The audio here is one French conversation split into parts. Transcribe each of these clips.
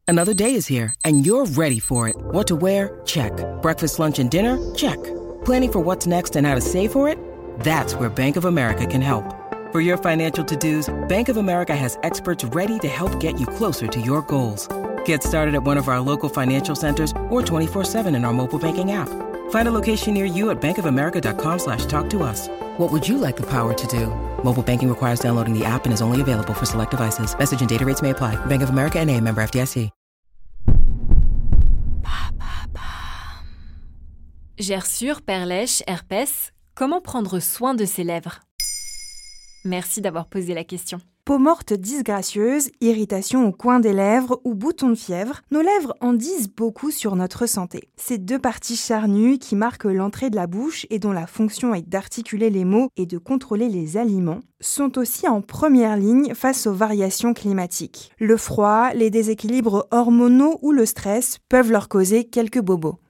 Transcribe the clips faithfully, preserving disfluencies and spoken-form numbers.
Another day is here, and you're ready for it. What to wear? Check. Breakfast, lunch, and dinner? Check. Planning for what's next and how to save for it? That's where Bank of America can help. For your financial to-dos, Bank of America has experts ready to help get you closer to your goals. Get started at one of our local financial centers or twenty-four seven in our mobile banking app. Find a location near you at bankofamerica.com slash talk to us. What would you like the power to do? Mobile banking requires downloading the app and is only available for select devices. Message and data rates may apply. Bank of America N A, member F D I C. Gerçure, perlèche, herpès, comment prendre soin de ses lèvres? Merci d'avoir posé la question. Peau morte disgracieuse, irritation au coin des lèvres ou boutons de fièvre, nos lèvres en disent beaucoup sur notre santé. Ces deux parties charnues qui marquent l'entrée de la bouche et dont la fonction est d'articuler les mots et de contrôler les aliments, sont aussi en première ligne face aux variations climatiques. Le froid, les déséquilibres hormonaux ou le stress peuvent leur causer quelques bobos.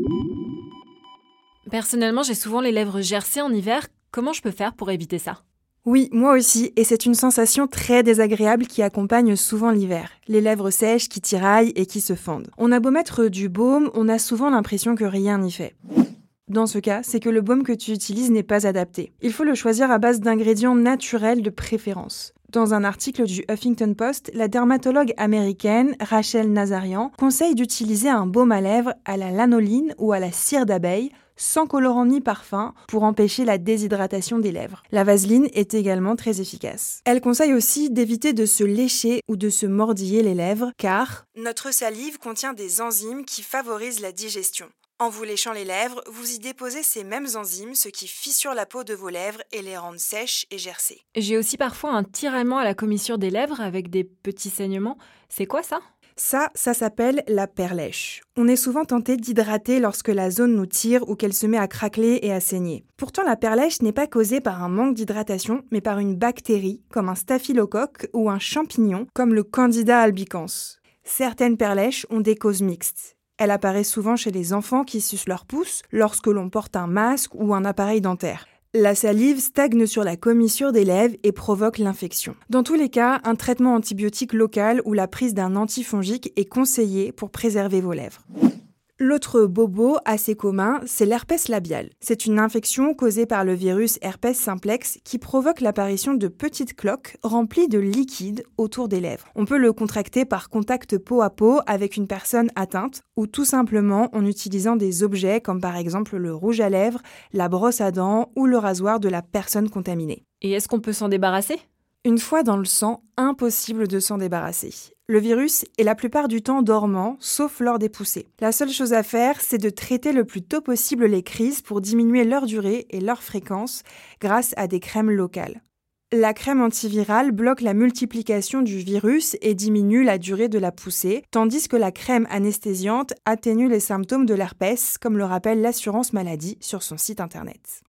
Personnellement, j'ai souvent les lèvres gercées en hiver. Comment je peux faire pour éviter ça? Oui, moi aussi, et c'est une sensation très désagréable qui accompagne souvent l'hiver. Les lèvres sèches qui tiraillent et qui se fendent. On a beau mettre du baume, on a souvent l'impression que rien n'y fait. Dans ce cas, c'est que le baume que tu utilises n'est pas adapté. Il faut le choisir à base d'ingrédients naturels de préférence. Dans un article du Huffington Post, la dermatologue américaine Rachel Nazarian conseille d'utiliser un baume à lèvres à la lanoline ou à la cire d'abeille, sans colorant ni parfum, pour empêcher la déshydratation des lèvres. La vaseline est également très efficace. Elle conseille aussi d'éviter de se lécher ou de se mordiller les lèvres, car notre salive contient des enzymes qui favorisent la digestion. En vous léchant les lèvres, vous y déposez ces mêmes enzymes, ce qui fissure la peau de vos lèvres et les rend sèches et gercées. J'ai aussi parfois un tiraillement à la commissure des lèvres avec des petits saignements. C'est quoi ça ? Ça, ça s'appelle la perlèche. On est souvent tenté d'hydrater lorsque la zone nous tire ou qu'elle se met à craqueler et à saigner. Pourtant, la perlèche n'est pas causée par un manque d'hydratation, mais par une bactérie, comme un staphylocoque ou un champignon, comme le Candida albicans. Certaines perlèches ont des causes mixtes. Elle apparaît souvent chez les enfants qui sucent leur pouce lorsque l'on porte un masque ou un appareil dentaire. La salive stagne sur la commissure des lèvres et provoque l'infection. Dans tous les cas, un traitement antibiotique local ou la prise d'un antifongique est conseillé pour préserver vos lèvres. L'autre bobo assez commun, c'est l'herpès labial. C'est une infection causée par le virus herpès simplex qui provoque l'apparition de petites cloques remplies de liquide autour des lèvres. On peut le contracter par contact peau à peau avec une personne atteinte ou tout simplement en utilisant des objets comme par exemple le rouge à lèvres, la brosse à dents ou le rasoir de la personne contaminée. Et est-ce qu'on peut s'en débarrasser ? Une fois dans le sang, impossible de s'en débarrasser. Le virus est la plupart du temps dormant, sauf lors des poussées. La seule chose à faire, c'est de traiter le plus tôt possible les crises pour diminuer leur durée et leur fréquence grâce à des crèmes locales. La crème antivirale bloque la multiplication du virus et diminue la durée de la poussée, tandis que la crème anesthésiante atténue les symptômes de l'herpès, comme le rappelle l'assurance maladie sur son site internet.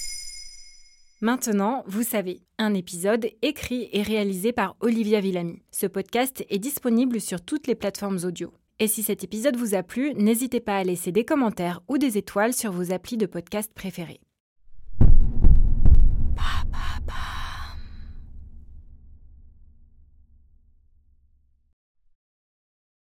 Maintenant, vous savez, un épisode écrit et réalisé par Olivia Villamy. Ce podcast est disponible sur toutes les plateformes audio. Et si cet épisode vous a plu, n'hésitez pas à laisser des commentaires ou des étoiles sur vos applis de podcast préférés.